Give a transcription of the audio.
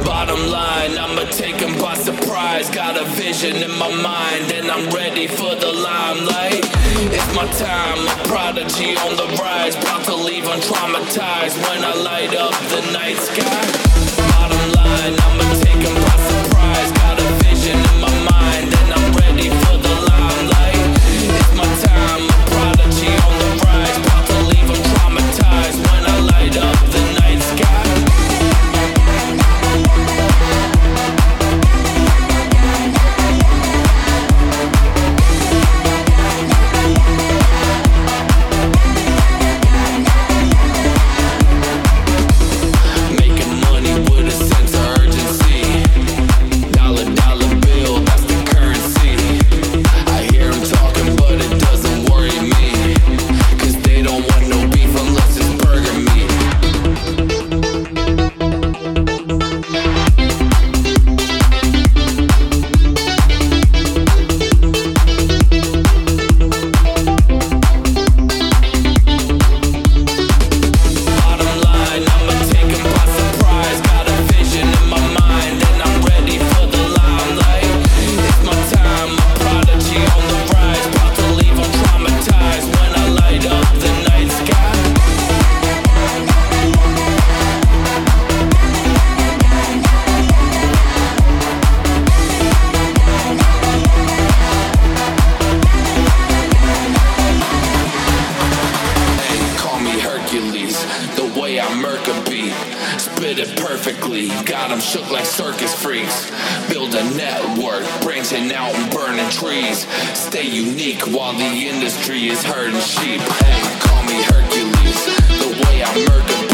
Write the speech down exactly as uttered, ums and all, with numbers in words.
Bottom line, I'ma take 'em by surprise. Got a vision in my mind and I'm ready for the limelight. It's my time, a prodigy on the rise. About to leave untraumatized when I light up the night sky. Bottom line, I'ma take 'em by surprise. Got a vision in my mind and I'm ready for the limelight. It's my time, a prodigy on the rise. About to leave untraumatized when I light up the night sky. Spit it perfectly, got 'em shook like circus freaks. Build a network, branching out and burning trees. Stay unique while the industry is herding sheep. Hey, call me Hercules, the way I murder